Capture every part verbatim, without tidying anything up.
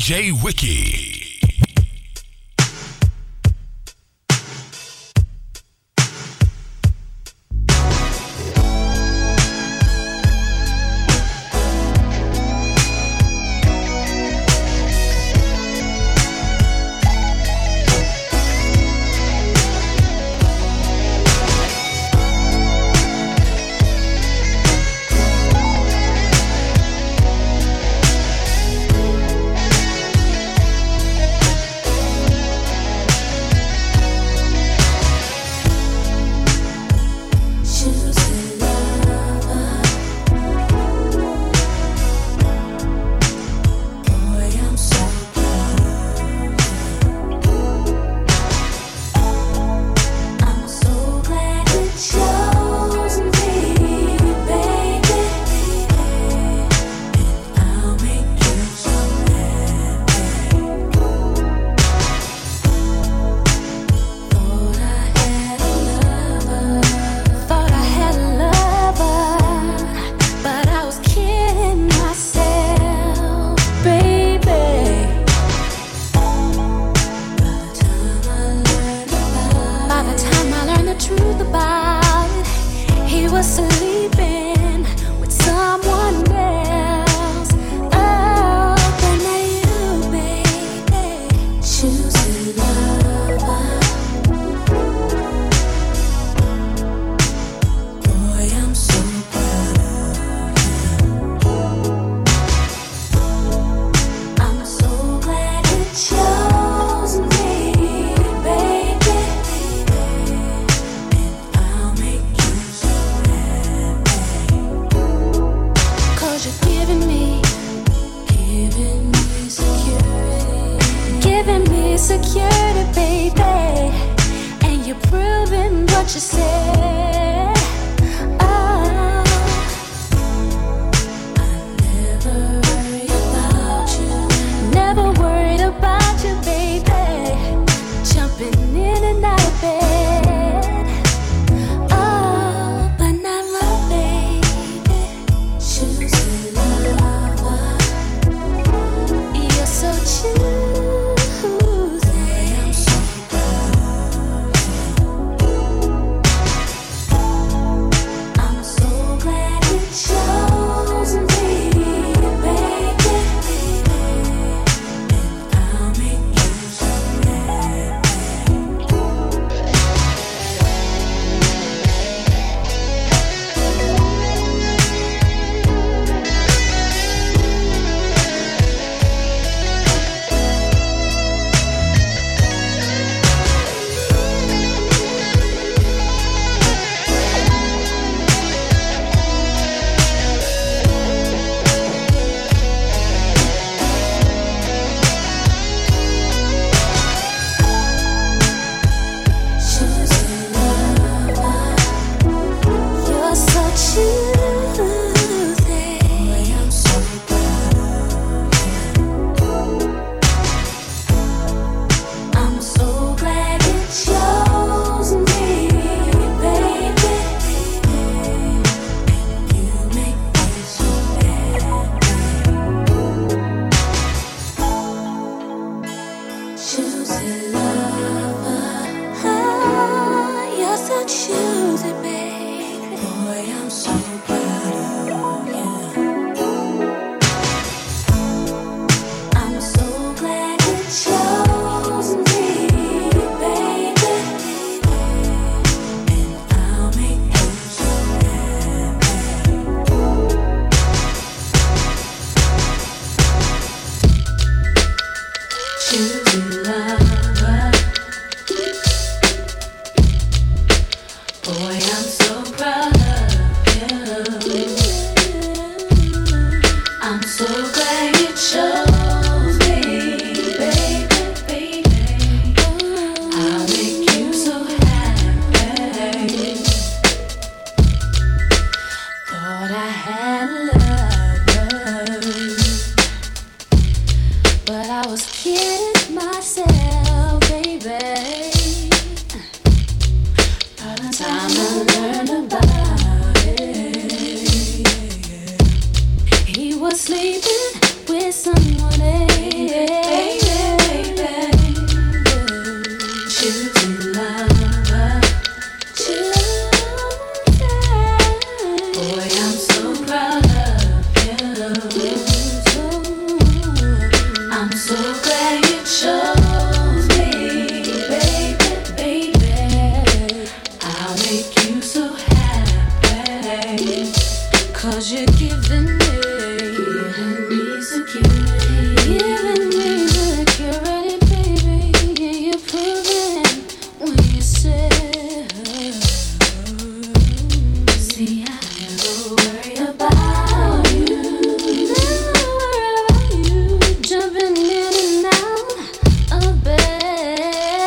J Wiki. But I was kidding with someone else. Choosing love, choosing. Boy, I'm so proud of you. I'm so glad you chose me, baby, baby. I'll make you so happy, 'cause you're giving me, giving me security, giving me security, baby. Yeah, you're proving when you say, see, I never worry about you, never worry about you, jumping in and out of bed,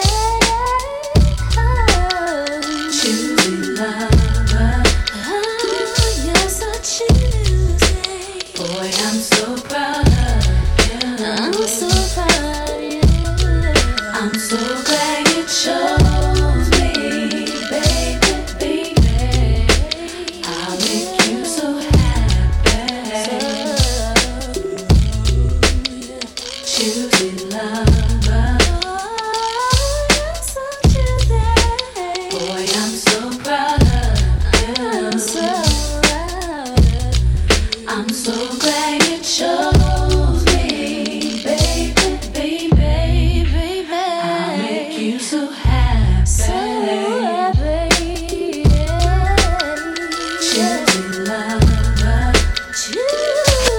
choosing love. Oh, yes, I choose it. Boy, I'm so proud of you. I'm so proud of you. I'm so glad you chose me, baby, baby. I'll make you so happy. Choosing love. Oh, yes, I choose it. Boy, I'm so proud of you. I'm so proud. I'm so glad you chose me, baby, baby, baby. I'll make you so happy, so happy. Choosing love, choose.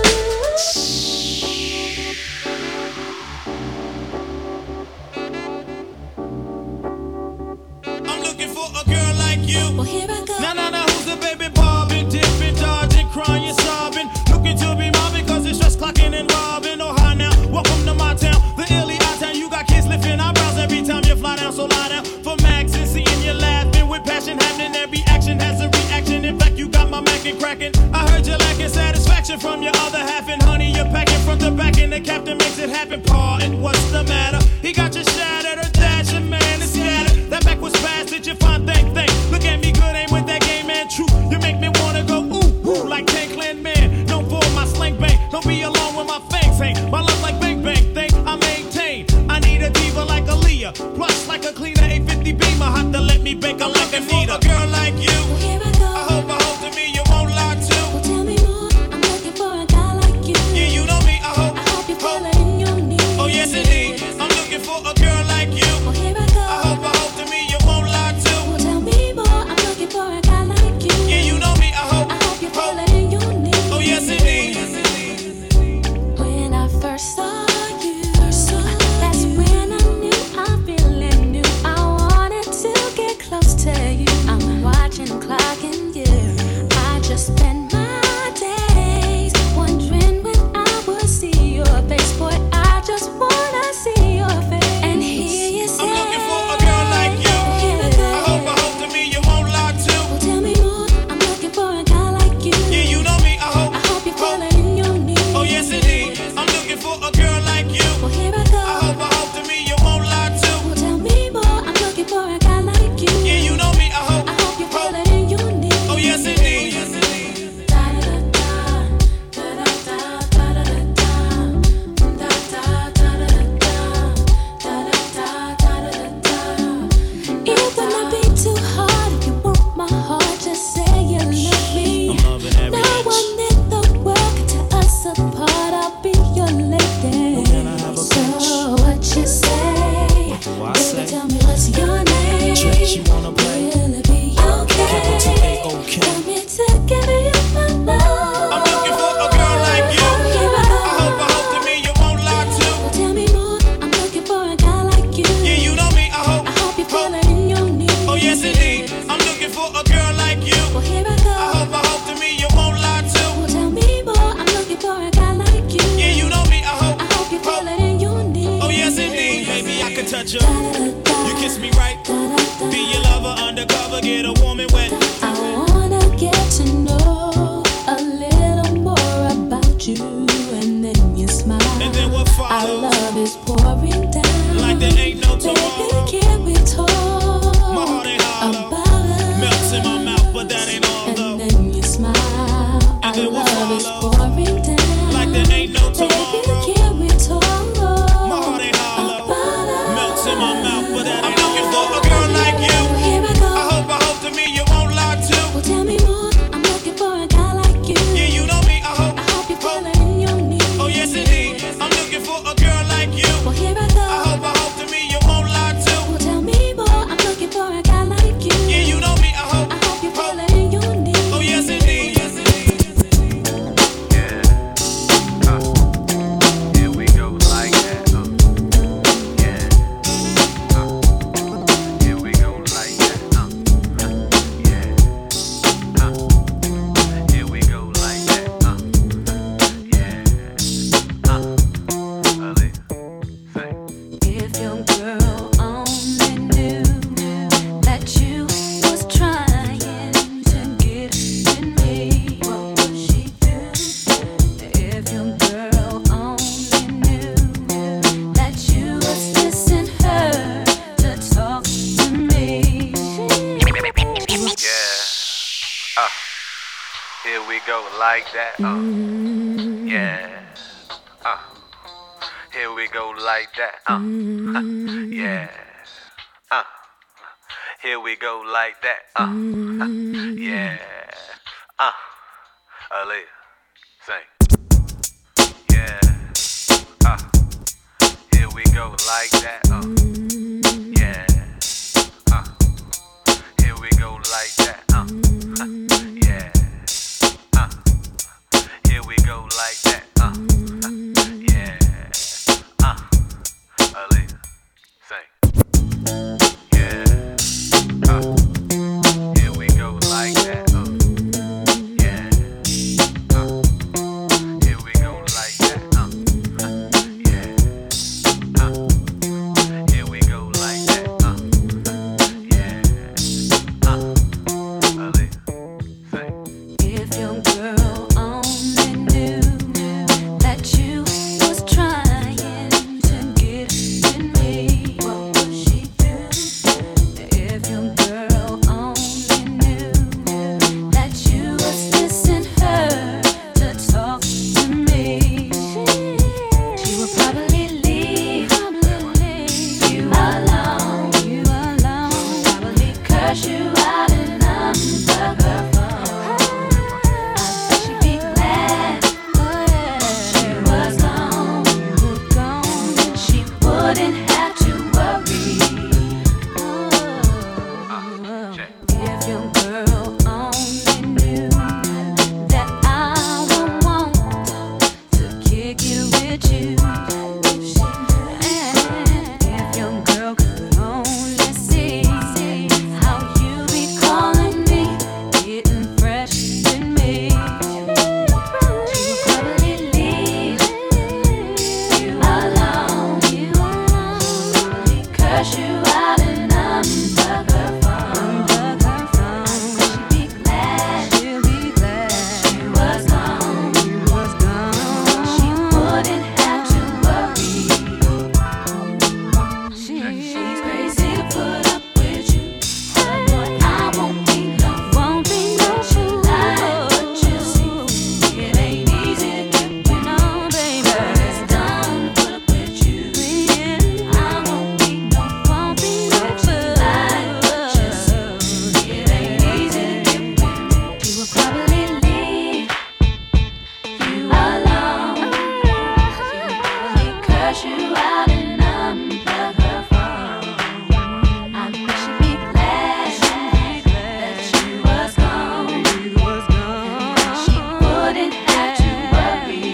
I'm looking for a girl like you. Well, here I go. Nah, nah, nah, who's the baby bobbing, dipping, dodging, crying, sobbing, looking to be mine because it's just clocking and robbing. Oh, hi now, welcome to my town, the illy town. You got kids lifting eyebrows every time you fly down, so lie down for Max and seeing you laughing with passion happening. Every action has a reaction. In fact, you got my Mac and cracking. I heard you lacking satisfaction from your other half, and honey, you're packing from the back, and the captain makes it happen. Paul, and what's the matter? He got you shattered, or dashing, man, and scattered. That back was fast, did you find thing, thing? Look at me, good aim with that game, man, true. You make me wanna go ooh, ooh, like Tank Man. Known for my slang bang, don't be alone when my fangs hang. My love like bang bang thing, I maintain. I need a diva like Aaliyah, plus like a cleaner eight fifty Beamer. Have to let me bake her like a Anita. A girl like you, Well, here I go. I hope I hope to me you won't lie to. Well, tell me more. I'm looking for a guy like you. Yeah, you know me, I hope. I hope you feel it in your knees. Oh yes indeed, I'm looking for a girl like you. Well, here I go. I hope I hope to me you won't lie to. Well, tell me more. I'm looking for a guy like you. Yeah, you know me, I hope. I hope you feel it in your knees. Oh yes indeed. When I first saw you, that's when I knew I really knew I wanted to get close to you. I'm watching the clock and you. I just spend my days wondering when I will see your face. Boy, I just wanna see your face. And here you say, I'm looking for a girl like you. Here I I go. hope I hope to me you won't lie to. Well, tell me more. I'm looking for a guy like you. Yeah, you know me, I hope. I hope you feel it in your knees. Oh yes indeed, I'm looking for a girl like you. Well, here I I go. hope I hope to me you won't lie to. Well, tell me more. I'm looking for a guy like you. Yeah, you know me, I hope. I hope you feel it in your knees. Oh yes indeed. It would not be too hard if you want my heart. Just say you love me. I'm loving every No inch. one in the world can tear us apart. I'll be your lady. can I have a So bitch? what you say? What do I Baby, say? tell me what's your name. Stretch, you wanna play? Will it be okay? Capital T A O K. Tell me to give you my love. I'm looking for a girl like you. Here I I go. hope I hope to me you won't lie to. Well, tell me more. I'm looking for a guy like you. Yeah, you know me, I hope. I hope you feel it in your knees. Oh yes indeed, I'm looking for a girl like you. Well, here I I go. hope I hope to me you won't lie to. Well, tell me more. I'm looking for a guy like you. Yeah, you know me, I hope. I hope you feel it in your knees. Oh yes indeed, baby I can touch you. Da-da-da-da. You kiss me right, Da-da-da. be your lover undercover, get a warm and wet. I wanna get to know a little more about you, and then you smile. And then what Our follows? love is pouring down. Like there ain't no Baby, tomorrow. can we talk My heart ain't hollow. about us? Melts in my mouth, but that ain't all And though. then you smile. Our then what love is follows? pouring down. Like there ain't no tomorrow. Baby, like that. Uh. Yeah. Uh. Here we go like that. Uh. Yeah. Uh. Here we go like that. Uh. Yeah. Uh. Aaliyah, sing. Yeah. Uh. Here we go like that. Uh. Yeah. Uh. Here we go like that. Uh. Yeah. Uh. Here we go like that. Uh. Yeah. Uh. Aaliyah, sing. Yeah. Uh. Here we go like that. Uh. Yeah. Uh. Here we go like that. Uh. Yeah. Uh. Here we go like that. Uh. Yeah. Uh. Aaliyah, sing. If your girl only knew that you was trying to get with me, what would she do? If your girl only knew that you was missing her to talk to me, she would probably leave you alone. You alone. Probably curse you out and unplug her phone. I bet she'd be glad that you was gone. You were gone. She wouldn't have to worry. If your girl only knew that I would want to kick it with you. If your girl could only see how you be calling me, getting fresh with me, she would probably leave you alone. You probably curse you out and unplug her phone. She'd be glad, she'll be glad that you was gone. You was gone. She wouldn't have to worry. She's crazy to put up with you. But I won't be no, won't be no lie. But you see, it ain't easy to get with no baby. It's dumb to put up with you. I won't be no, won't be no lie. But you see, it ain't easy to get with me. She will probably leave you alone. She will probably curse you out and unplug her phone. I bet she'd be glad that you was gone. She wouldn't have to worry.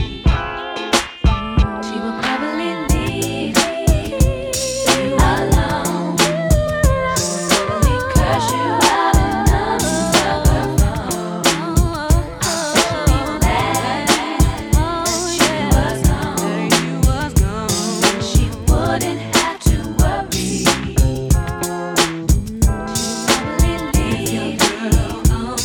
She will probably leave you alone. Probably curse you out and unplug her phone. I bet she'd be glad that you was gone. She wouldn't have to worry. She will probably leave you alone.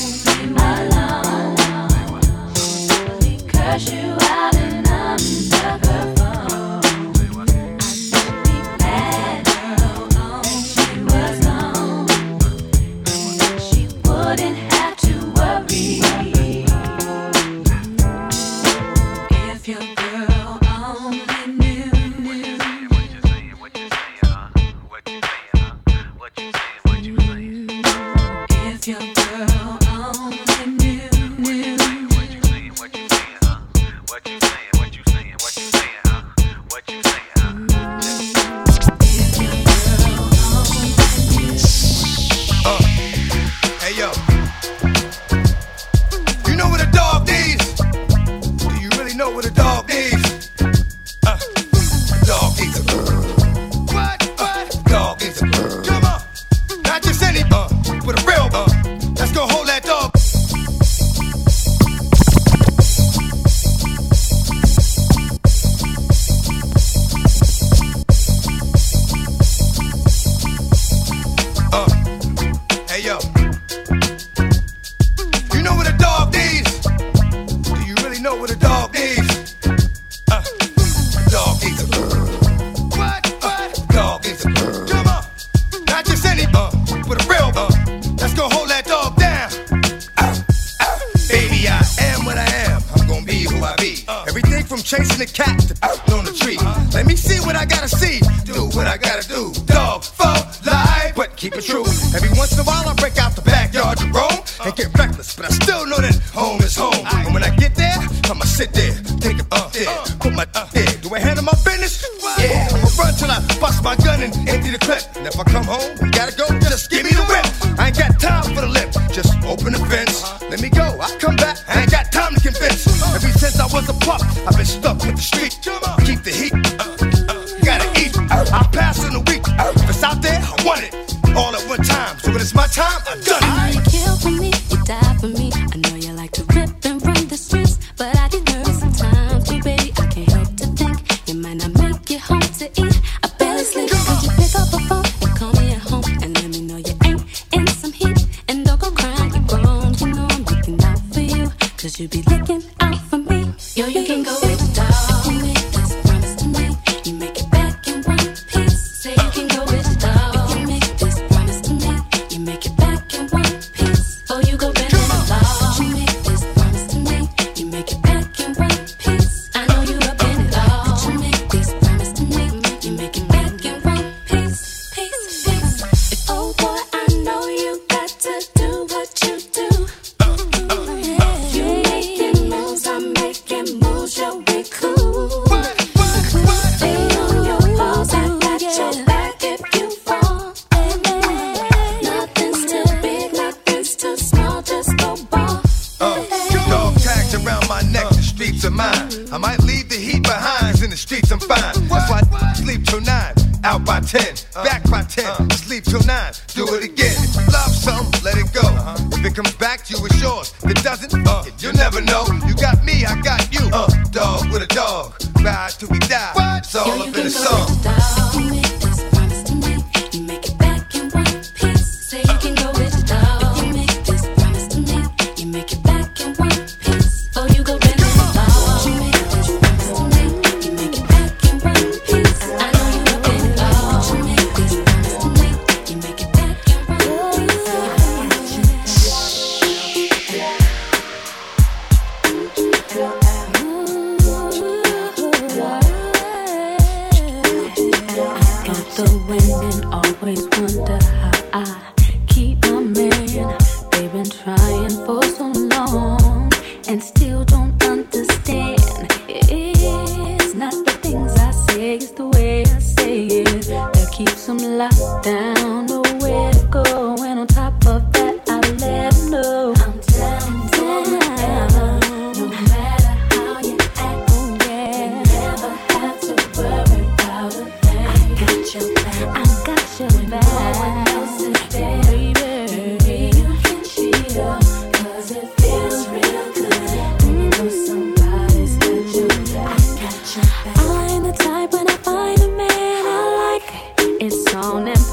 Probably curse you out and unplug her phone. I bet she'd be glad that she was gone. She wouldn't have to worry. If your girl only knew. What you saying? What you saying? What you saying? Huh? What you saying? Huh? What you saying? What you saying? If your girl only knew, knew. What you saying? What you saying? Huh? What you saying? What you saying? What you saying? Huh? What you saying? Huh? If your girl only knew. Uh, hey yo, you know what a dog needs? Do you really know what a dog needs? Uh, dog needs a what? What? Dog needs a come on, not just any uh, with a real uh. Let's go hold that dog. Uh, hey yo, you know what a dog needs? Do you really know what a dog needs? Uh, Everything from chasing the cat to putting on the tree. Let me see what I gotta see, do what I gotta do. Dog, fuck, lie, but keep it true. Every once in a while I break out the backyard to roam and get reckless, but I still know that home is home. And when I get there, I'ma sit there, take it up there, put my up there. Do I handle my business? Yeah, I'ma run till I bust my gun and empty the clip. And if I come home, you gotta go, just give me the whip. I ain't got time for the lip, just open the fence. Let me go, I'll come back, I ain't got time to convince. Ever since I was a pup, I've been stuck with the street. Keep the heat, gotta eat. I'll pass in a week, if it's out there, I want it. All at one time, so when it's my time, I've done it. I know you kill for me, you die for me. I know you like to rip and run the streets, but I get nervous sometimes, too, baby. I can't help to think you might not make it home to eat. I barely sleep. Could you pick up a phone and call me at home and let me know you ain't in some heat? And don't go crying, you're grown. You know I'm looking out for you, cause you be looking out for me. Yo, you can go with the dog. You make this promise to me, you make it back in one piece. Say you can go with the dog. If you make this promise to me, you make it back in one piece. Oh, you go bend the law. You make this promise to me, you make it back in one piece. I know you up in it all. But you make this promise to me, you make it back in one piece, piece, piece. Oh boy, I know you got to do what you do. You making moves, I'm making moves, yo, we cool. Stay on your paws, I got your back if you fall. Nothing's too big, nothing's too small, just go ball. Uh, dog tags around my neck, the streets are mine. I might leave the heat behind, in the streets I'm fine. That's why I sleep till nine, out by ten, back by ten, sleep till nine, do it again. If you love something, let it go. If it comes back to you, it's yours. If it doesn't, uh, you'll never know. You got me, I got you. Uh, dog with a dog, ride till we die. It's all Yo, up you in can the go song. with the dog. You make this promise to me, you make it back in one piece. Say you can go with the dog. If you make this promise to me, you make it back in one piece. Oh, you go bend the law. You make this promise to me, you make it back in one piece. I know you up in it all. You make this promise to me, you make it back in one piece. I got the wind and always wonder how I keep my man. They've been trying for so long and still don't understand. It's not the things I say, it's the way I say it that keeps them locked down. Nowhere to go, and on top of that, I let them know I'm down, down. No matter how you act, oh yeah, you never have to worry about a thing. I got your back, I got your back. No one else is there, baby. Baby, you can cheat up, cause it feels real good when you know somebody's got your back. I got your back. I ain't the type when I find a man I like, it's on and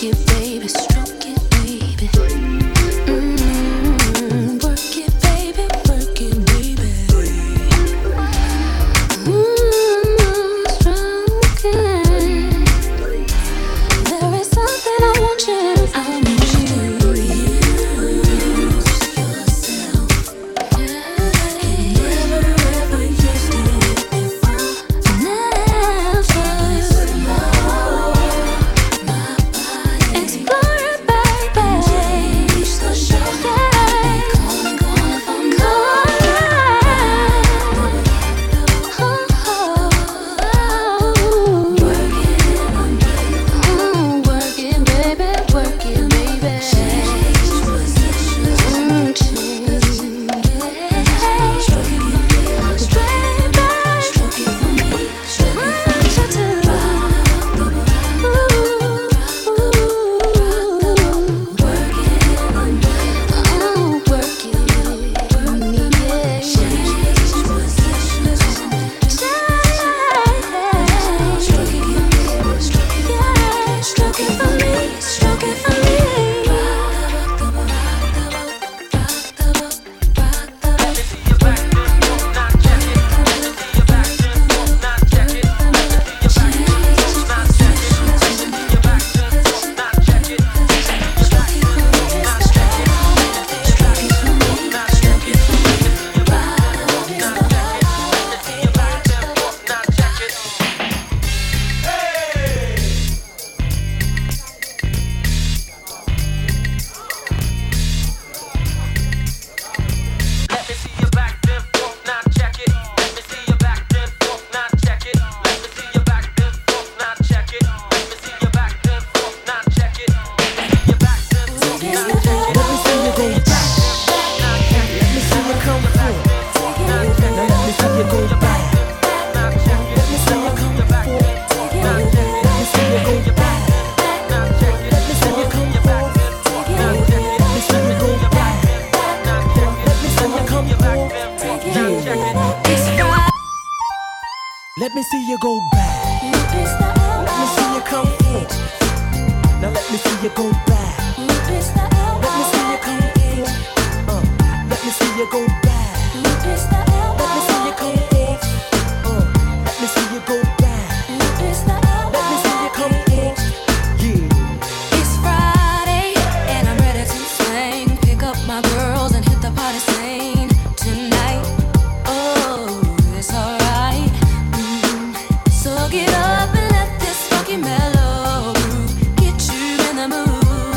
Let me see you go back. Let me see you come forth. Now let me see you go back. Let me see you come forth. Uh, let me see you go back. Let me see you come forth. Uh, let me see you go back. Let me see you come forth. Yeah. It's Friday and I'm ready to sing. Pick up my girls and hit the party scene tonight. Oh, it's alright. Mm. So get up and let this funky mellow groove get you in the mood.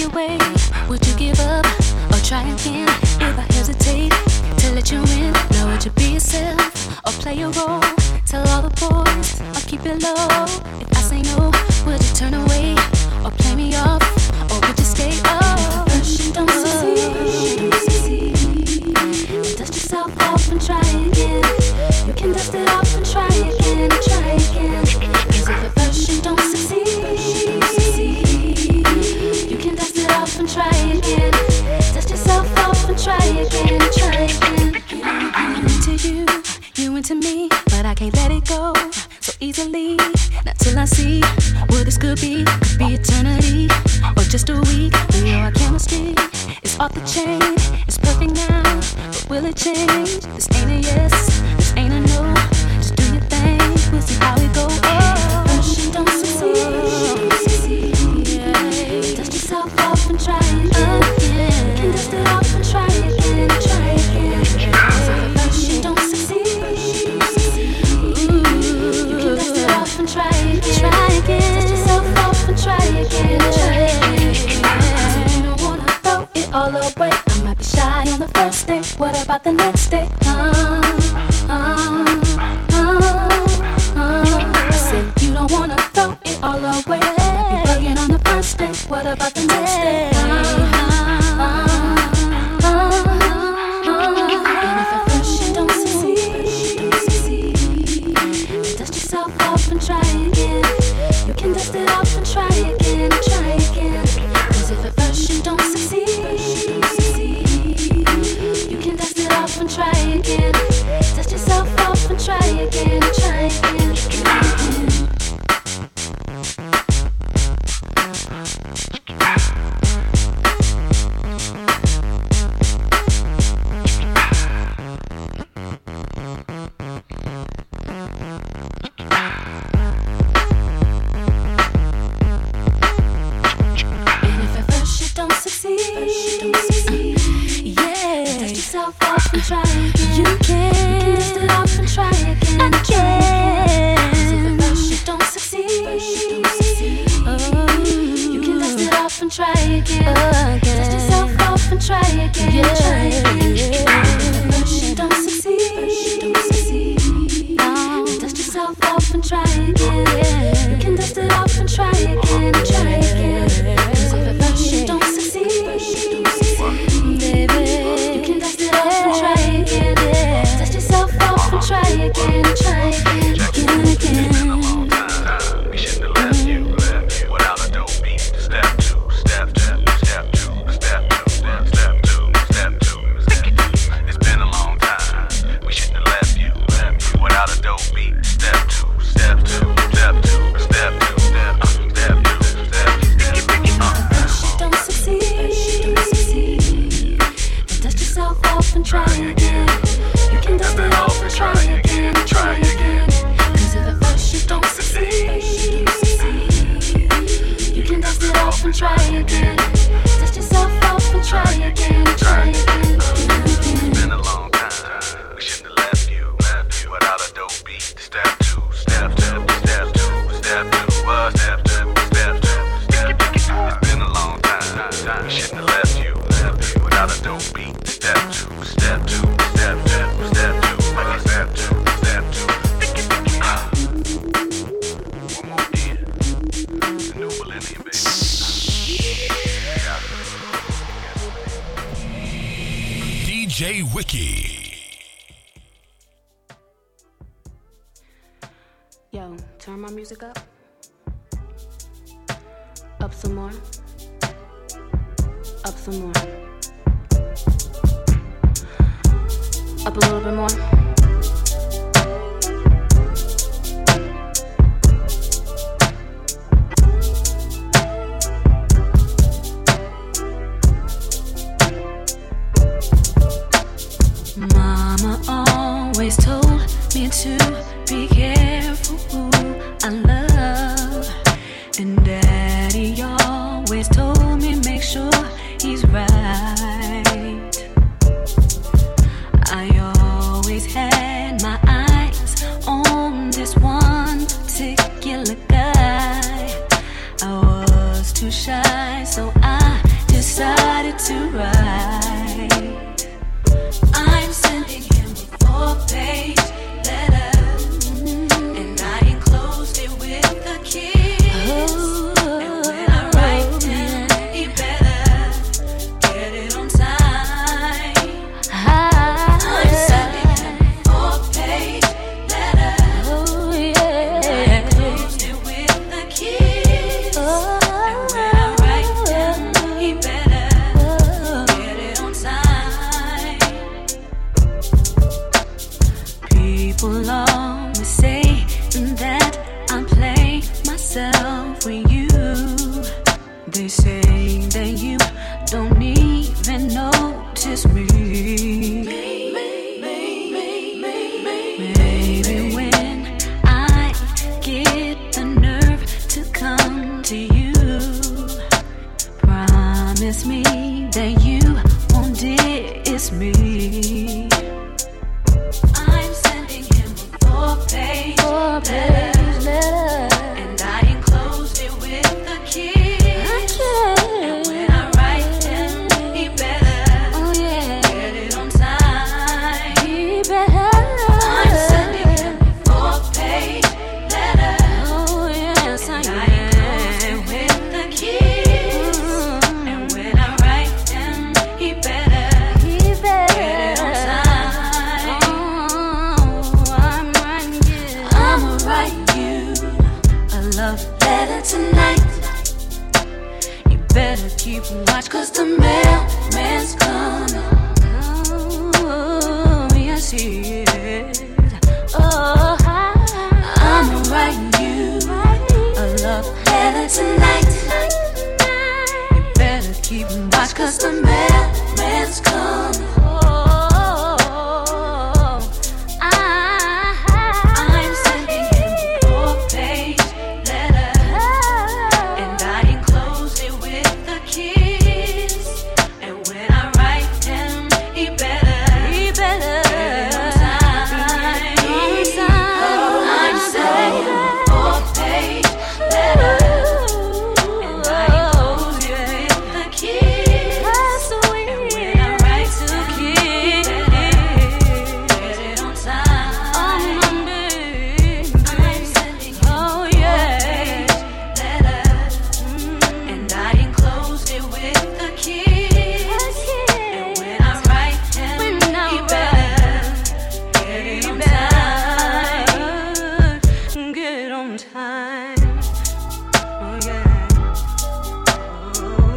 your way? Would you give up or try again? If I hesitate to let you in, now would you be yourself or play your role? Tell all the boys I'll keep it low. If I say no, would you turn away or play me off? Or would you stay? Oh, first you don't succeed, dust yourself off and try again. You can dust it off and try again, try again. Cause if at first you don't succeed, you can dust it off and try again. Dust yourself off and try again, try again. I'm into you, you into me, but I can't let it go so easily. Not till I see what this could be. Could be eternity or just a week. We know our chemistry is off the chain. It's perfect now, but will it change? This ain't a yes, this ain't a no. Just do your thing, we'll see how it goes. Oh, first you don't succeed, yeah. Dust yourself off and try again. You can dust it off and try again, try again. So first you don't succeed, you can dust it off and try again, try again. Dust yourself off and try again, try again. You don't wanna throw it all away. I might be shy on the first day. What about the next day? Uh, uh, uh, uh. I said you don't wanna throw it all away. Be bugging on the first day. What about the next day? Uh, uh, uh, uh. And if at first you don't succeed, dust yourself off and try again. You can dust it off and try again, try again. Cause if at first you don't succeed, you can dust it off and try again. Dust yourself off and try again, try again, try again. Off and try again. You can, you can dust it off and try again. Again. If at first you don't succeed, oh, you can dust it off and try again. again. Dust yourself off and try again. Yeah. Try again. If at first you don't succeed, oh, dust yourself off and try again. Yeah. You can dust it off and try again. Try again. Cause if at first you don't succeed, baby. Try again, yeah. Dust yourself off and try again, try again, again, again. We shouldn't have left you, left you without a dope beat. Step two, step two, step two, step two, step step two, step two, step two. It's been a long time. We shouldn't have left you, left you without a dope beat. Step two, step two, step two, step two, step two, step two, step two. First you don't succeed, dust yourself off and try again. You can dust it off and try again, try again. Cause if at first you don't succeed, you can dust it off and try again. Dust yourself off and try again, try again. It's been a long time. We shouldn't have left you, left you without a dope beat. Step two, step two, step two, step two, uh, step two, step two, step two. It's been a long time. We shouldn't have left you, left you without a dope beat. Step two, step two, step two, step two, uh, step two, step two. One more year. The new millennium, baby. D J Wiki. Yo, turn my music up. Up some more. Up some more. Up a little bit more. Mama always told me to be careful who I love, and Daddy always told me make sure he's right. I always had my eyes on this one particular guy. I was too shy, so I it to write. I'm sending him a four-page letter, and I enclosed it with a kiss. And when I write him, he better get it on time. I'm sending him a four-page letter, and I enclosed it with a kiss. And when I write him, he better get it on time. People always say that I play myself with you. They say that you don't even notice me. Maybe when I get the nerve to come to you, promise me that you won't diss me. I'm sending him a four-page letter, and I enclosed it with a kiss. And when I write him, he better get it on time. I'm sending him a four-page letter, and I enclosed it with a kiss. And when I write him, he better get it on time. I'ma write you a love letter tonight. You better keep watch, 'cause the mailman's coming. Oh, yes he is. Oh, I'ma write you a love letter tonight. You better keep watch, 'cause the mailman's coming. I'm sending him a four-page letter, and I enclosed it with a kiss. And when I write him, he better get it on time. I'm sending him a four-page letter, and I enclosed it with a kiss. And when I write him, he better get it on time. I'm sending him a four-page letter, and I enclosed it with a kiss. And when I write him, he better get it on time. Get it on time. Oh yeah. Oh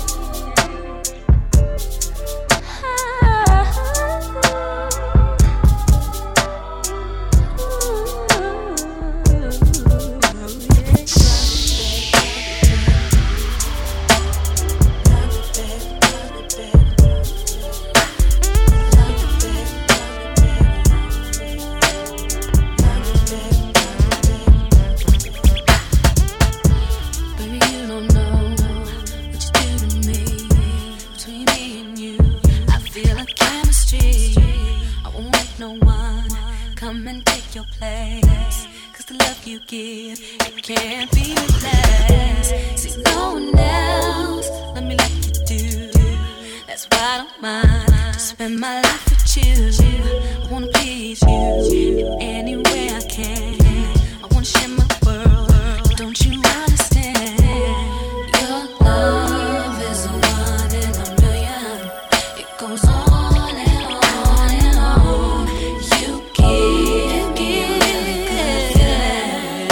Baby, you don't know what you do to me. Between me and you, I feel a chemistry. I won't let no one come and take your place, 'cause the love you give, it can't be replaced. See, no one else, let me let you do. That's why I don't mind to spend my life with you. I wanna please you in any way I can. I wanna share my world, but don't you understand? Your love is a one in a million. It goes on and on and on. You give me a really good feeling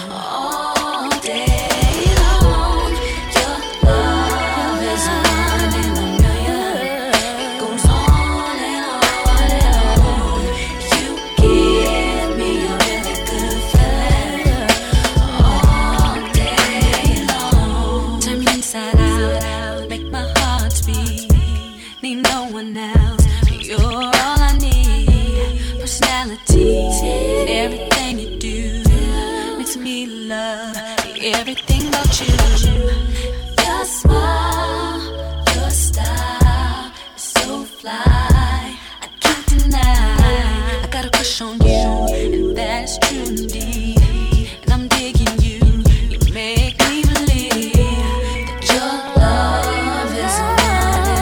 all day long. Your love is a one in a million. It goes on and on and on. You give me a really good feeling all day long. Turn me inside out, make my heart beat. Need no one else, you're all I need. Personality, everything you do makes me love everything about you. Your smile, your style is so fly, I can't deny. I got a crush on you, and that's true indeed. And I'm digging you, you make me believe that your love is a one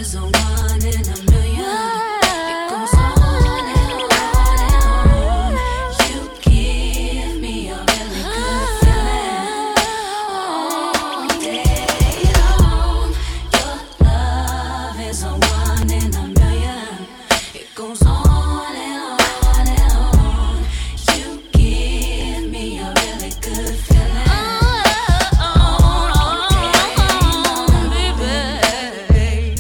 is a one in a million. It goes on and on and on. You give me a really good feeling all day long. Your love is a one in a million. It goes on and on and on. You give me a really good feeling all day long, baby.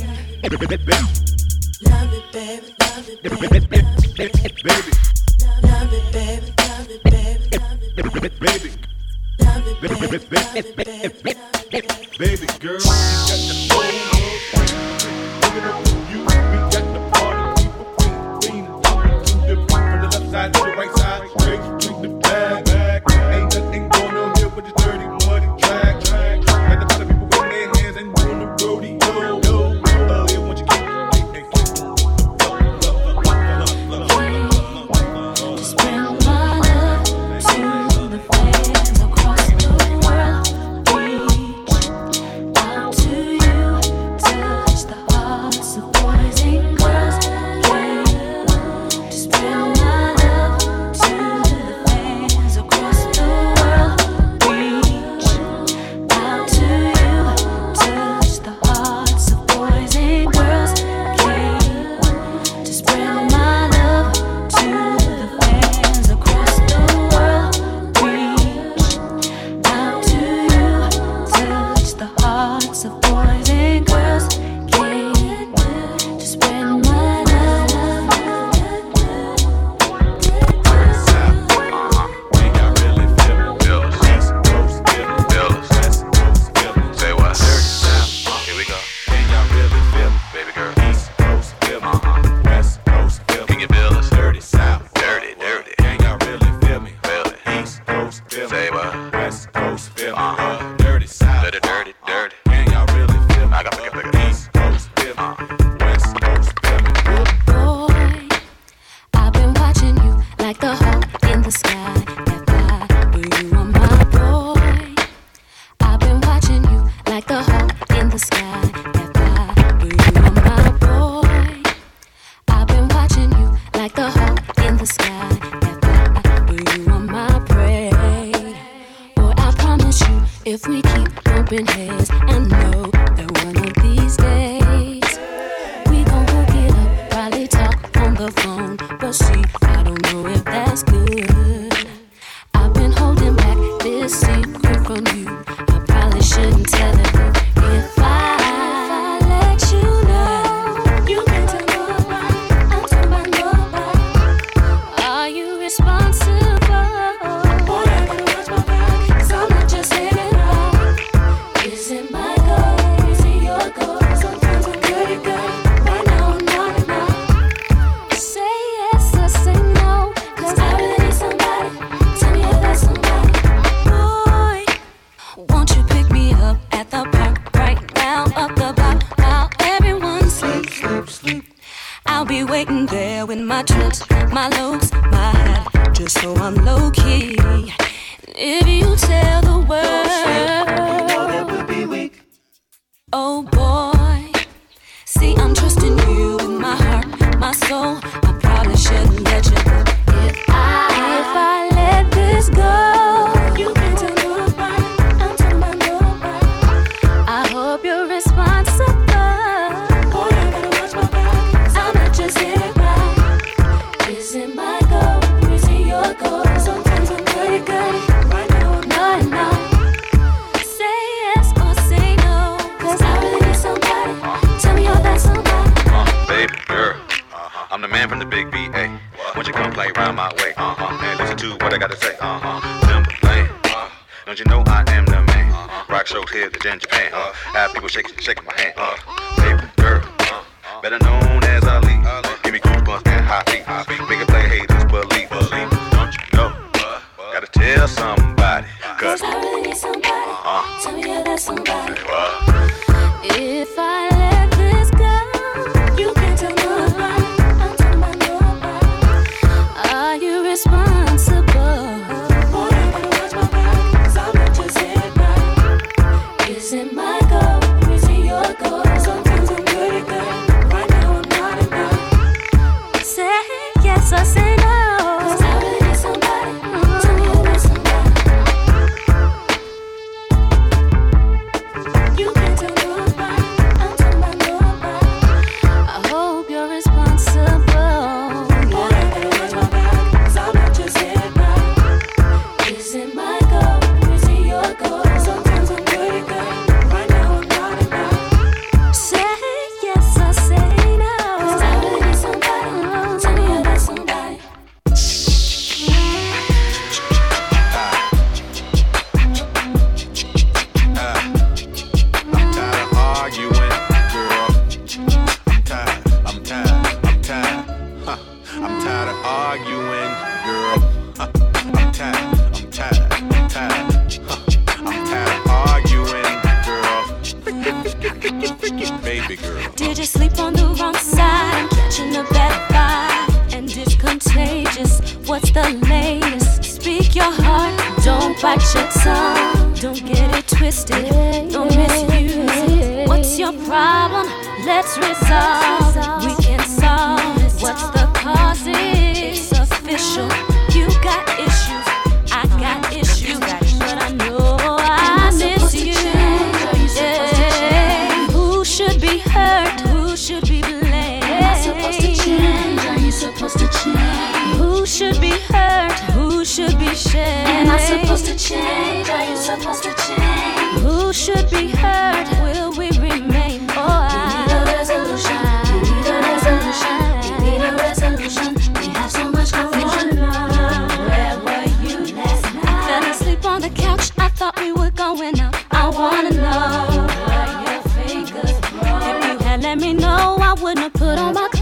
Love it, baby, love it, baby, love it, baby, love it, baby, love it, baby, love it, baby, love it, baby, love it, baby, Baby girl, you got the soul. Give it up to you. We got the party. People clean, clean, to the from the left side to the right side. Straight to the bag, bag. Ain't nothing going on here but the dirty, muddy track, track. Got the other people with their hands and doing the rodeo. Uh, yeah, once you get it, they click. Just bring my love to the fans across the world. Reach out to you, touch the hearts of boys and girls. Yeah. Just bring my love to the fans across the world. Reach out to you, touch the hearts of boys and girls. Yeah. Just bring my love to the fans across the world. Reach out to you, touch the hearts of boys and girls. Yeah, just bring my love. Ain't y'all really feeling Bills? East Coast, Bills, West Coast, Bills. Say what? Here we go. Ain't y'all really feeling, baby girl? East Coast, Bills, West Coast, Bills. Can you build us? Dirty South, dirty, dirty. Ain't y'all really feel me? Feel it. East Coast, Bills. Say what? West Coast, Bills. Uh-huh. Dirty South, dirty, dirty, dirty. Ain't y'all really feel me? I got to pick it. East Coast, Bills, West Coast, Bills. Boy, I've been watching you like the hawk in the sky. That fly, but you are my boy. I've been watching you like the hawk in the sky. That fly, but you are my boy. I've been watching you like the hawk in the sky. That fly, but you are my prey. Boy, I promise you, if we keep bumping heads, I know that one of these days we gon' hook it up, probably talk on the phone. But see, I don't know if that's good. I've been holding back this secret from you. I probably shouldn't tell it. If I, if I let you know, you can tell nobody. I'm talking about nobody. Are you responsible? Boy, I gotta watch my back, 'cause I'm not just saying it right. Is it my goal? Is it your goal? Sometimes I'm pretty good. Right now I'm not enough. Say yes or say no, 'cause I really need somebody. Tell me if that's somebody. Boy, won't you pick me up at the park right now? Up the block while everyone sleeps, sleep, sleep. I'll be waiting there with my trips, my looks, my hat, just so I'm low key. If you tell the world, oh boy, see I'm trusting you with my heart, my soul. I probably shouldn't let you go. If I, if I let this go, you can tell nobody. I'm talking about nobody. I hope you're responsible. Boy, I gotta watch my back, 'cause I'm not just in it right. Is it my goal? Is it your goal? Sometimes I'm pretty good. Right now I'm not enough. Say yes or say no, 'cause I really need somebody. Tell me you're that somebody. Uh, baby girl, uh-huh. I'm the man from the big B A. Won't you come play round my way? Uh-huh. And listen to what I gotta say. Uh-huh. Timberland. Uh, don't you know I am the man? Uh-huh. Rock shows here in Japan. Uh, have people shaking, shaking my hand. Uh, baby girl, uh, better known as Ali. Uh, give me goosebumps and hot feet. Make it play haters believe. Believe. Don't you know? Uh, gotta tell somebody. 'Cause 'Cause I really need somebody. uh-huh. Tell me you're that somebody. Uh, If I let this go, you can tell nobody. I'm talking about nobody. Are you responsible? Boy, I gotta watch my back, 'cause I'm not just in it right. Is it my goal? Is it your goal? Sometimes I'm pretty good. sleep on the wrong side. I'm catching a bad vibe, and it's contagious. What's the latest? Speak your heart, don't bite your tongue. Don't get it twisted, don't misuse it. What's your problem? Let's resolve. We can solve it. What's the cause? It's official. You got issues, I got issues, but I know I miss you. Yeah. Who should be hurt? Who should be blamed? Am I supposed to change? Are you supposed to change? Who should be hurt? Who should be shamed? Am I supposed to change? Are you supposed to change? Who should be hurt? Will we remain? Oh, I need a resolution. We need a resolution. We need a resolution. We have so much confusion. Where were you last night? I fell asleep on the couch. I thought we were going out. I wanna know what your fingers broke. If you had let me know, I wouldn't have put on my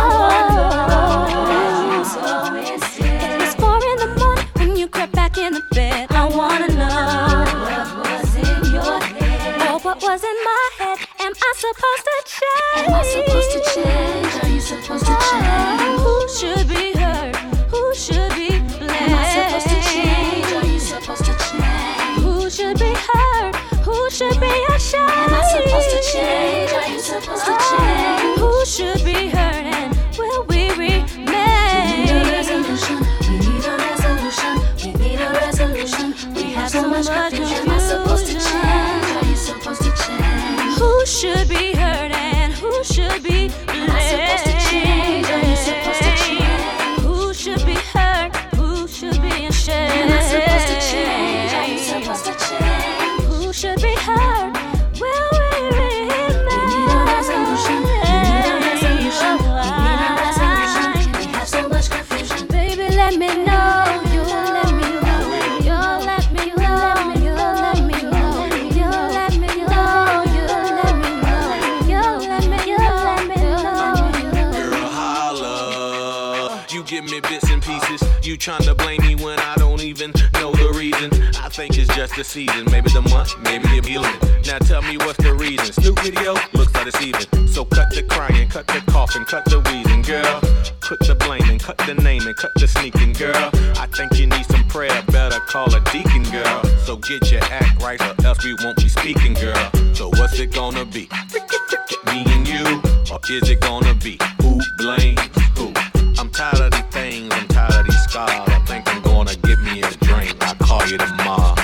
clothes. So it's four in the morning when you crept back in the bed. I wanna know what was in your head. Oh, what was in my head? Am I supposed to change? Am I supposed to change? Are you supposed to change? Who should be hurt? Who should be blamed? Am I supposed to change? Are you supposed to change? Who should be hurt? Who should be ashamed? Am I supposed to change? Are you supposed to change? Who should be hurt and will we remain? We need a resolution. We need a resolution. We need a resolution. We have so much confusion. Am I supposed to change? Are you supposed to change? Who should be hurt and who should be blamed? Am I supposed to change? Are you supposed to change? Who should be hurt? Who should be ashamed? Am I supposed to change? Are you supposed to change? Who should be hurt? Will we remain? We need a resolution. We need a resolution. We need a resolution. We have so much confusion. Baby, let me know. You let me know. You let me know. You let me know. You let me know. You let me know. You let me know. Girl, holla. You give me bits and pieces. You tryna blame me when I don't even know the reason. I think it's just the season. Maybe the month, maybe the feeling. Now tell me what's the reason. Snoop video looks like it's even. So cut the crying, cut the coughing, cut the wheezing, girl. Put the blaming, cut the naming, cut the sneaking, girl. I think you need some prayer. Better call a deacon, girl. So get your act right, or else we won't be speaking, girl. So what's it gonna be? Me and you, or is it gonna be who blames who? I'm tired of these things, I'm tired of these scars. I think I'm gonna give me a drink. I'll call you tomorrow.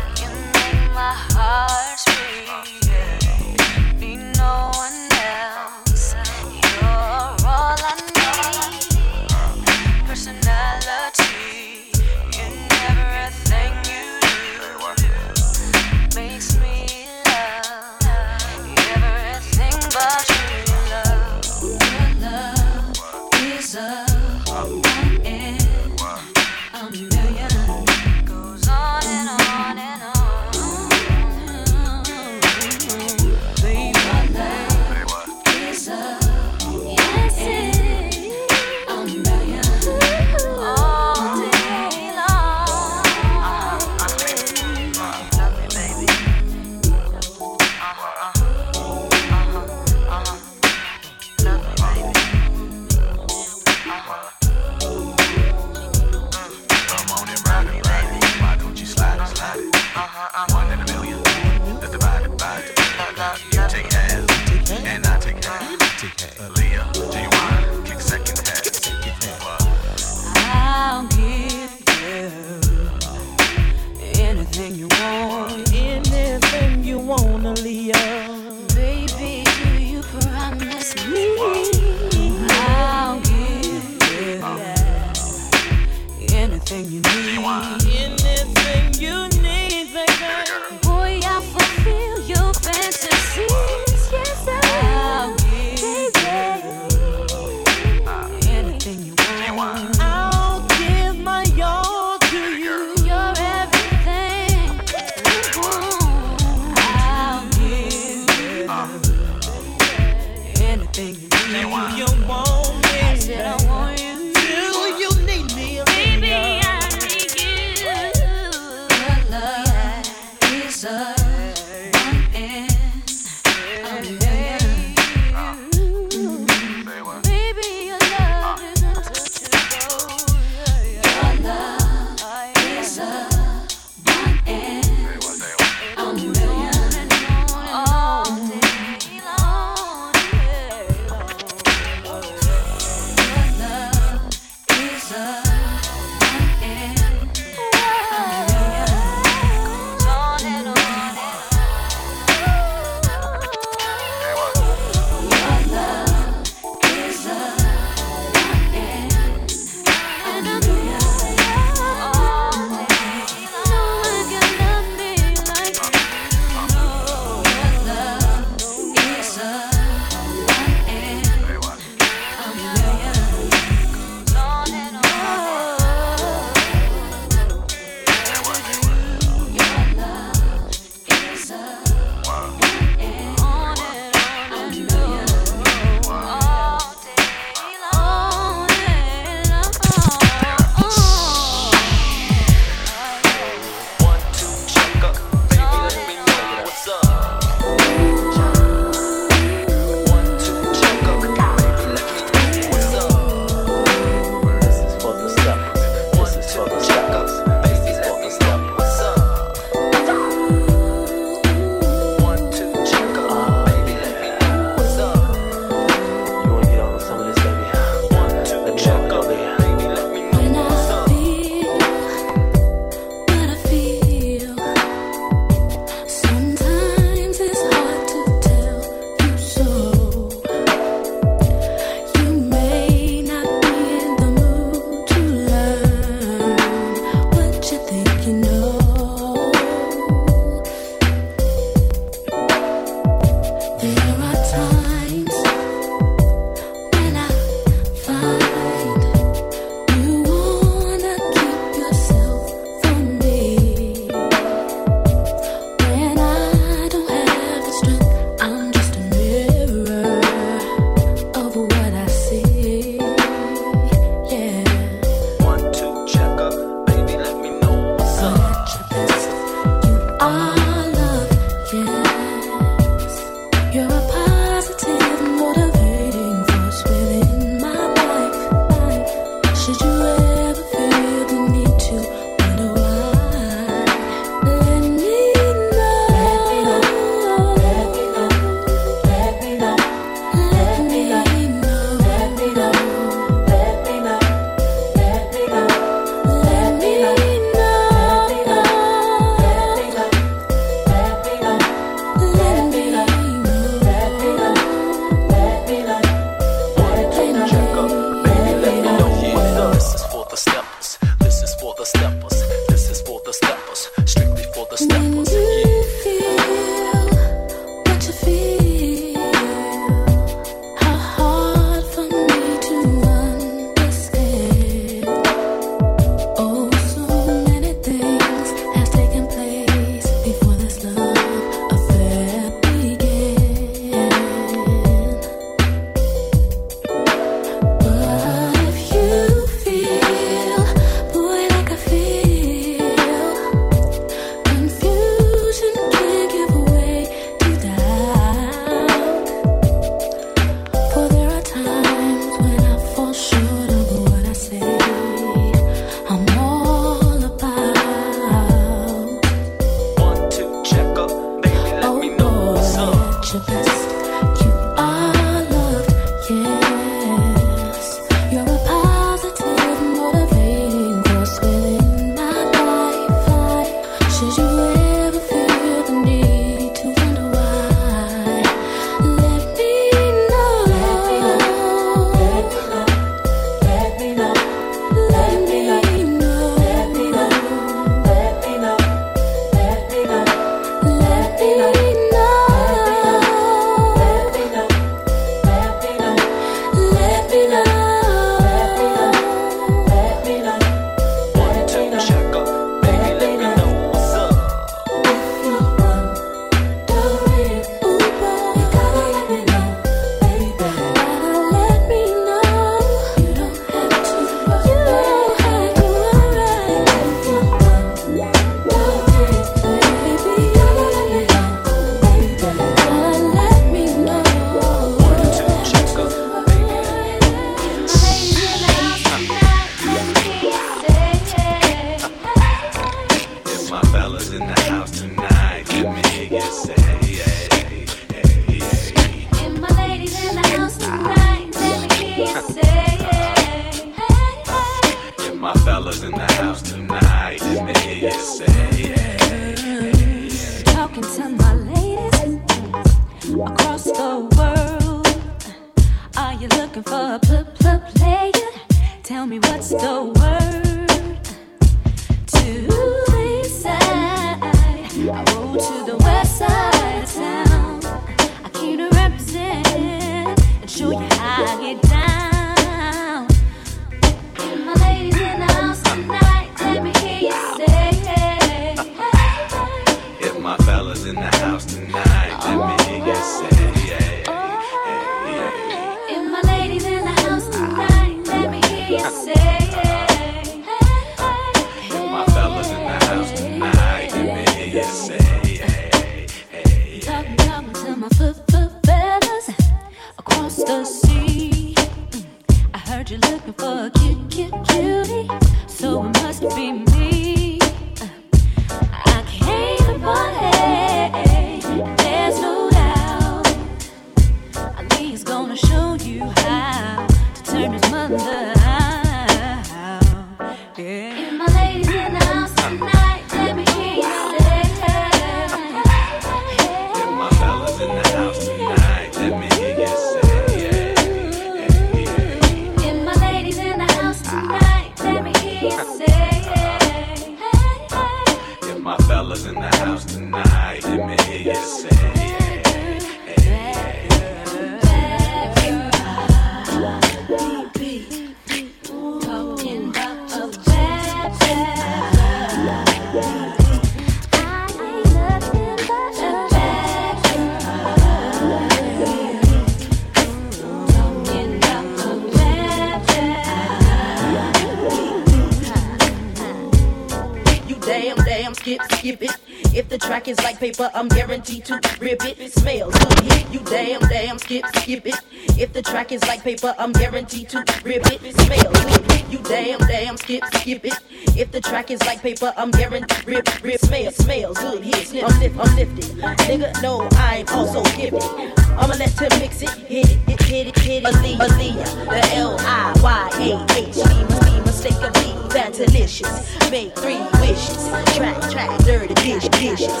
Paper, I'm guaranteed to rip it. Smells good, hit you damn, damn, skip, skip it. If the track is like paper, I'm guaranteed to rip it. Smells good, hit you damn, damn, skip, skip it. If the track is like paper, I'm guaranteed rip, rip. Smells, smells good, hit, I'm lift, I'm lifted. Nigga, no, I'm also gifted. I'ma let him mix it, hit it, hit, hit it, hit it. Aaliyah, Aaliyah, the L I Y A H. Me mistake of me, that delicious. Make three wishes, track, track, dirty dish, dishes.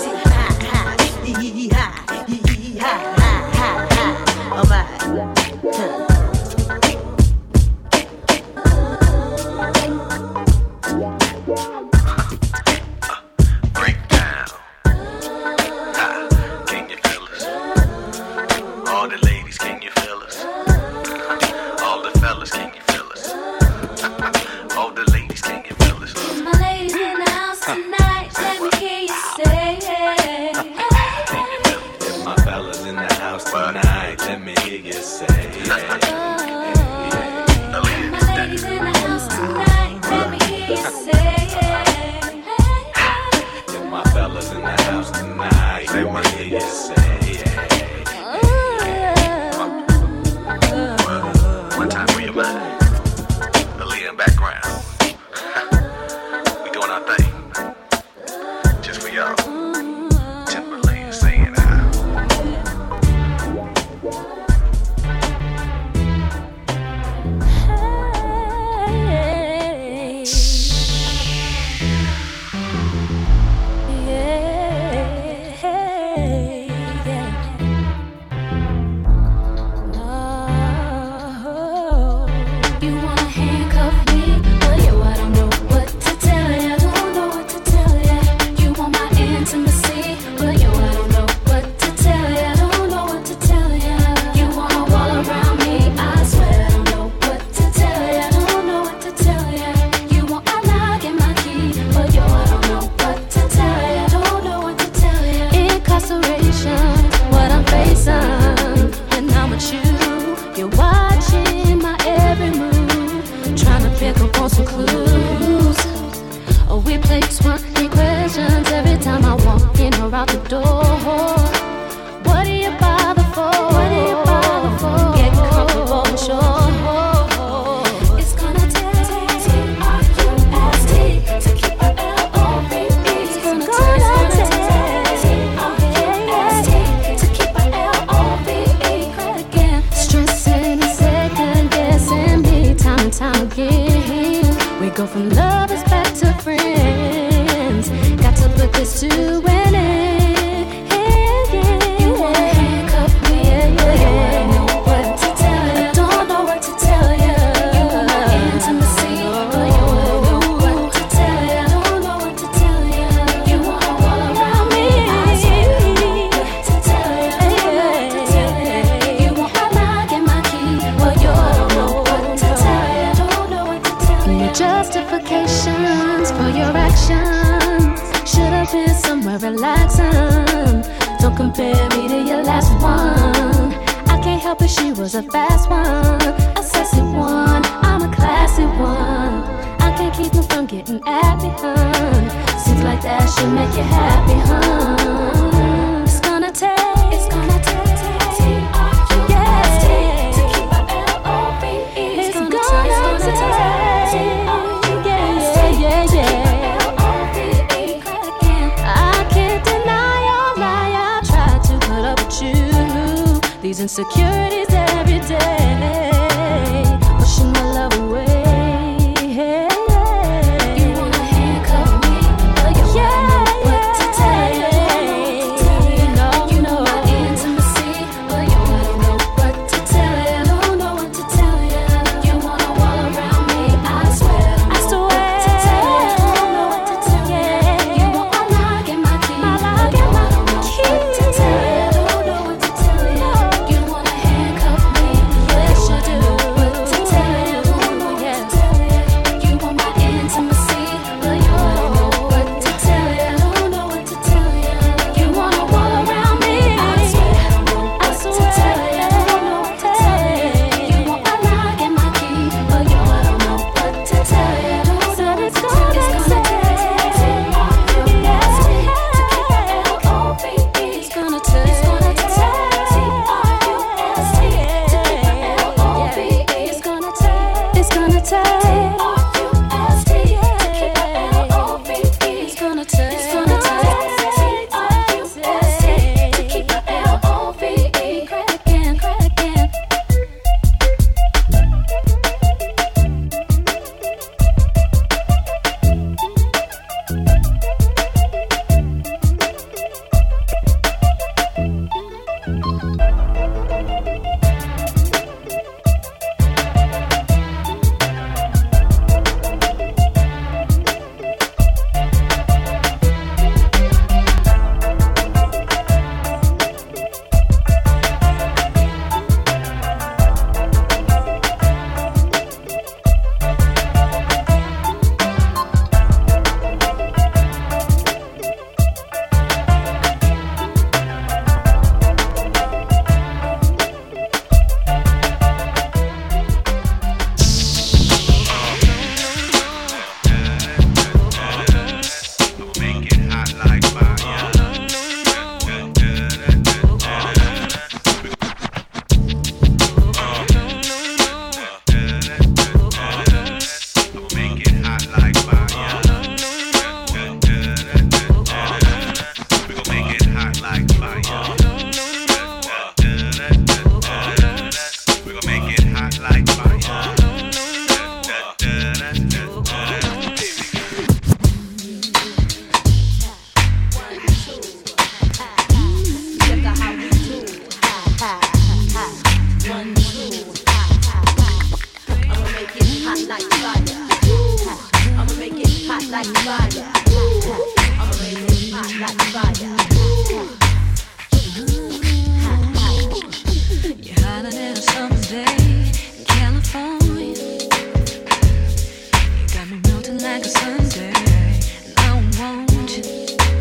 Hee hee ha, hee hee ha, ha, ha, ha. Oh my. Break down. Ha, can you feel us? All the ladies, can you feel us? All the fellas, can you feel us? All the ladies, can you feel us? My ladies in the house tonight, let me hear you say hey. My fellas in the house tonight, let me hear you say yeah. My ladies in the house tonight, let me hear you say yeah. My fellas in the house tonight, let me hear you say yeah. One time for your mind, Aaliyah in background. We doing our thing, just for y'all. Timberland saying ah. You wanna handcuff me, but clues. Oh, we play twenty questions every time I walk in or out the door. What do you bother for? What do you bother for? Get comfortable and sure. It's gonna take T R U S T to keep it L O V E. It's gonna take T R U S T to keep it L O V E. Again, stressing and second guessing me time and time again. We go from lovers back to friends. Got to put this to an end. You wanna handcuff me, yeah, yeah. You wanna know what to tell you. I don't know what to tell you. You want my intimacy, but you wanna know what to tell you. I don't know what to tell you. You wanna all around me, I swear I don't know what to tell you. I don't know what to tell you. You want my lock and my key, but you don't know what to tell you. I don't know what to tell you. Your justifications for your actions should have been somewhere relaxing. Don't compare me to your last one. I can't help it, she was a fast one, a sassy one. I'm a classy one. I can't keep me from getting at me, hun. Seems like that should make you happy, hun. It's gonna take, it's gonna take T R U S T to keep my L O V E. It's gonna take, it's gonna take T R U S T to keep my L O V E. I can't deny your lie. I try to put up with you. These insecurities every day, pushing my love away. You wanna handcuff me, but you wanna know what to tell you. You know, you know my intimacy, but you wanna know what to tell you. I don't know what to tell you. You wanna wall around me, I swear. I swear. What to tell you. I don't know what to tell you. You want my lock and my key, but you don't know what to tell you. I don't know what to tell you. You wanna handcuff me, yes you do. What to tell you? I don't know what to tell you. You want my intimacy, but you don't know what to tell you. I don't know what to tell you. You wanna wall around me, I swear. I don't know what to tell you. I don't know what to tell you. You want my lock and my key, but you don't know what to tell you. I don't know what to tell you. It's gonna take T R U S T to keep my L O V E. It's gonna take, it's gonna take T R U S T to keep my L O V E. It's gonna take, it's gonna take T R U S T to keep my L O V E. It's gonna take, it's gonna take T R U S T to keep my L O V E. Crack again, crack again. Make it hot like fire. Make it hot like fire. We gon' make it hot like fire. We gon' make it hot like fire. You're hotter than a summer day in California. You got me melting like a Sunday, and I want you.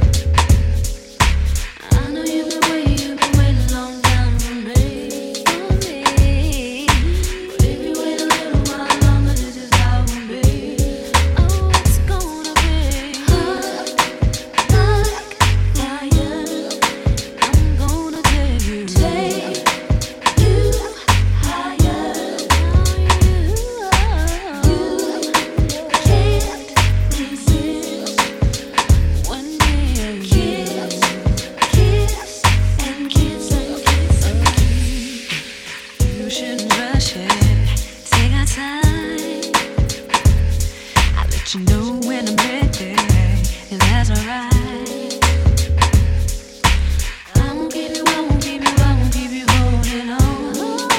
I know you've been waiting, you've been waiting a long time for me, for me. But if you wait a little while longer, this is how it will be. let you know when I'm ready, and that's alright. I won't keep you, I won't keep you, I won't keep you holding on.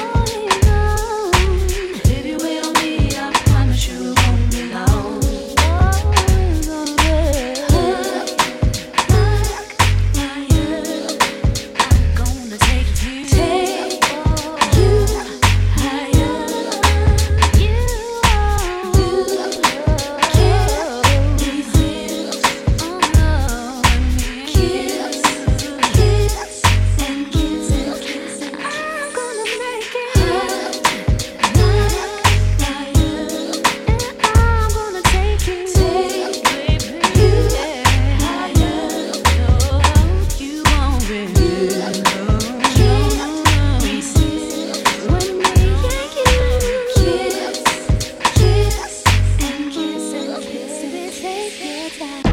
If you wait on me, I promise you it won't be long. I'm gonna take you, take you higher. You, you can't resist. Oh no, kiss, kiss and kiss and kiss. I'm gonna make it higher, and I'm gonna take you, take you higher. No, you won't resist. Can't resist when me and you kiss, kiss and kiss and kiss and take your time.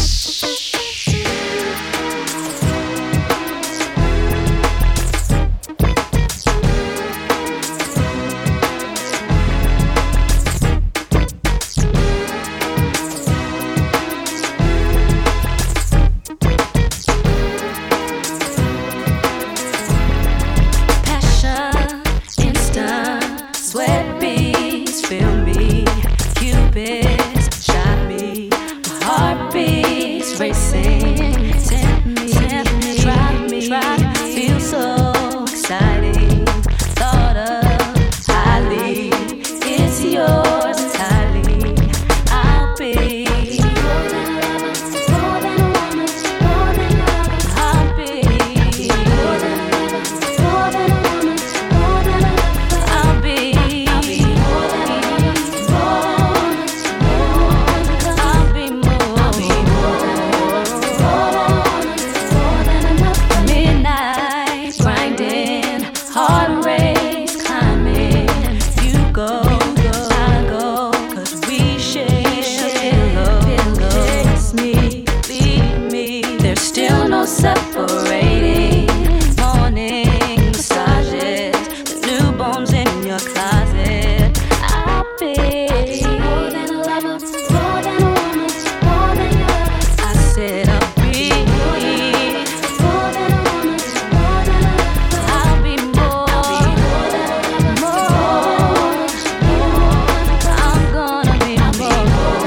Passion, instant, sweat beats, feel me, Cupid's shot me, my heart beats racing, tempt me, tempt me, try me, try me, feel so exciting, thought of highly, it's yours entirely, I'll be more than a lover, more than a woman, more than a lover, I'll be more than a lover, more than a woman, more than a lover, I'll be, I'll be more than a lover, more, more, I'll be more, I'll be more than a lover, more than a woman, more than a lover. Midnight grinding, heart race climbing, you go, I go, 'cause we share a pillow. Kiss me, leave me, there's still no separating. Morning massages, the newborns in your closet. I'll be more than a lover, more than a woman, more than a lover. I said I'll be more than a woman, more than a lover. I'll be more, more than a lover, more, more. I'm gonna be more.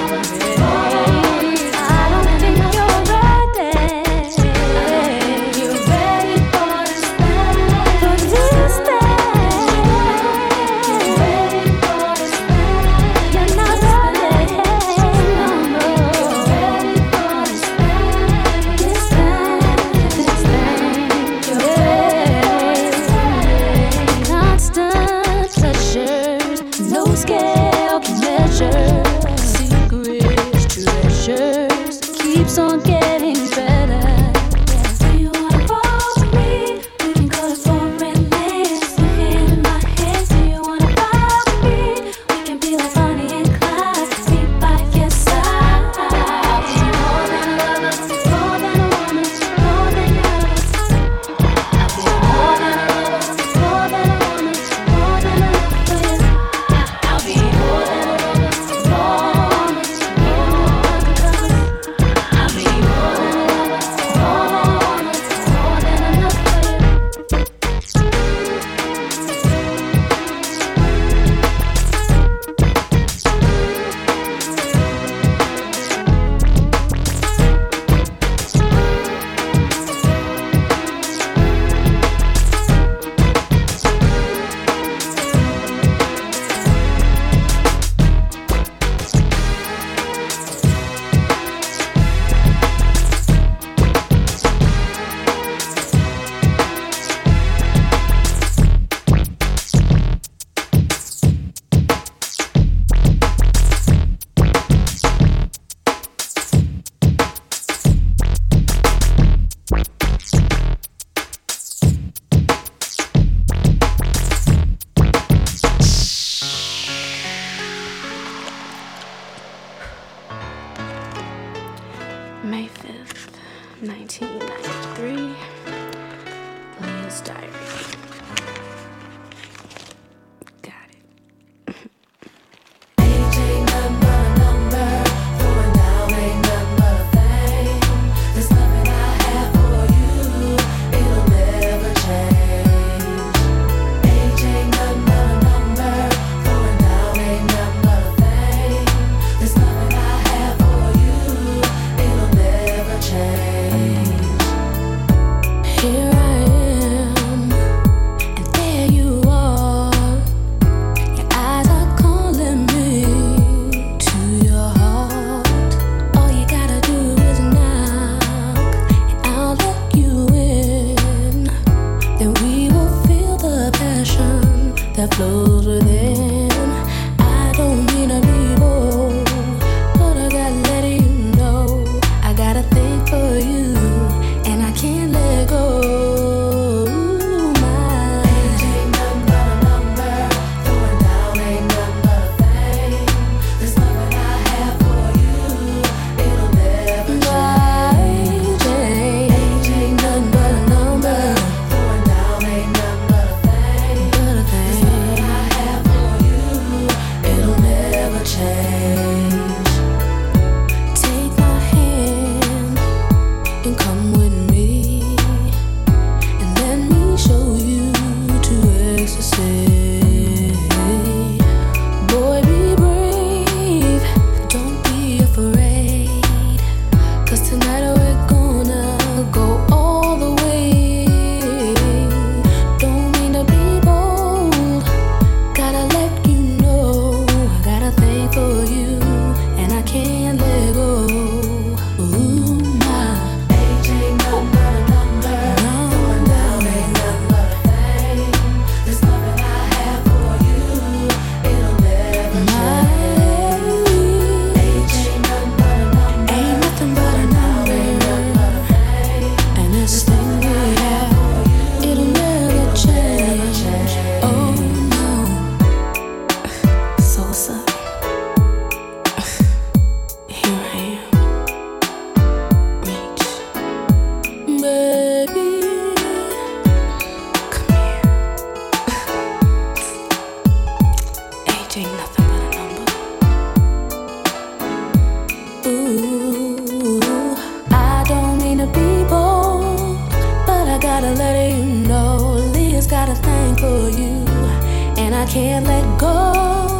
I don't think you're ready. You're ready for this thing, for this thing. You're ready for this thing. You're not ready. No, no. You're ready for this thing, this thing, this thing. You're ready. Constant pleasures, no scale can measure. Secrets, treasures, keeps on getting better. Do you wanna roll with me? We can go to foreign lands. Your hand in my hand. Do you wanna ride with me? We can be like Bonnie and Clyde. Be by your side. I'll be more than a lover, more than a woman, more than your lover. I'll be more than a lover, more than a woman, more than a lover. I'll be more than a lover, more, more. I'll be more than a May fifth, nineteen ninety-three, Leah's diary. Got it. A J number, number. Ooh, I don't mean to be bold, but I gotta let you know Leah's got a thing for you, and I can't let go.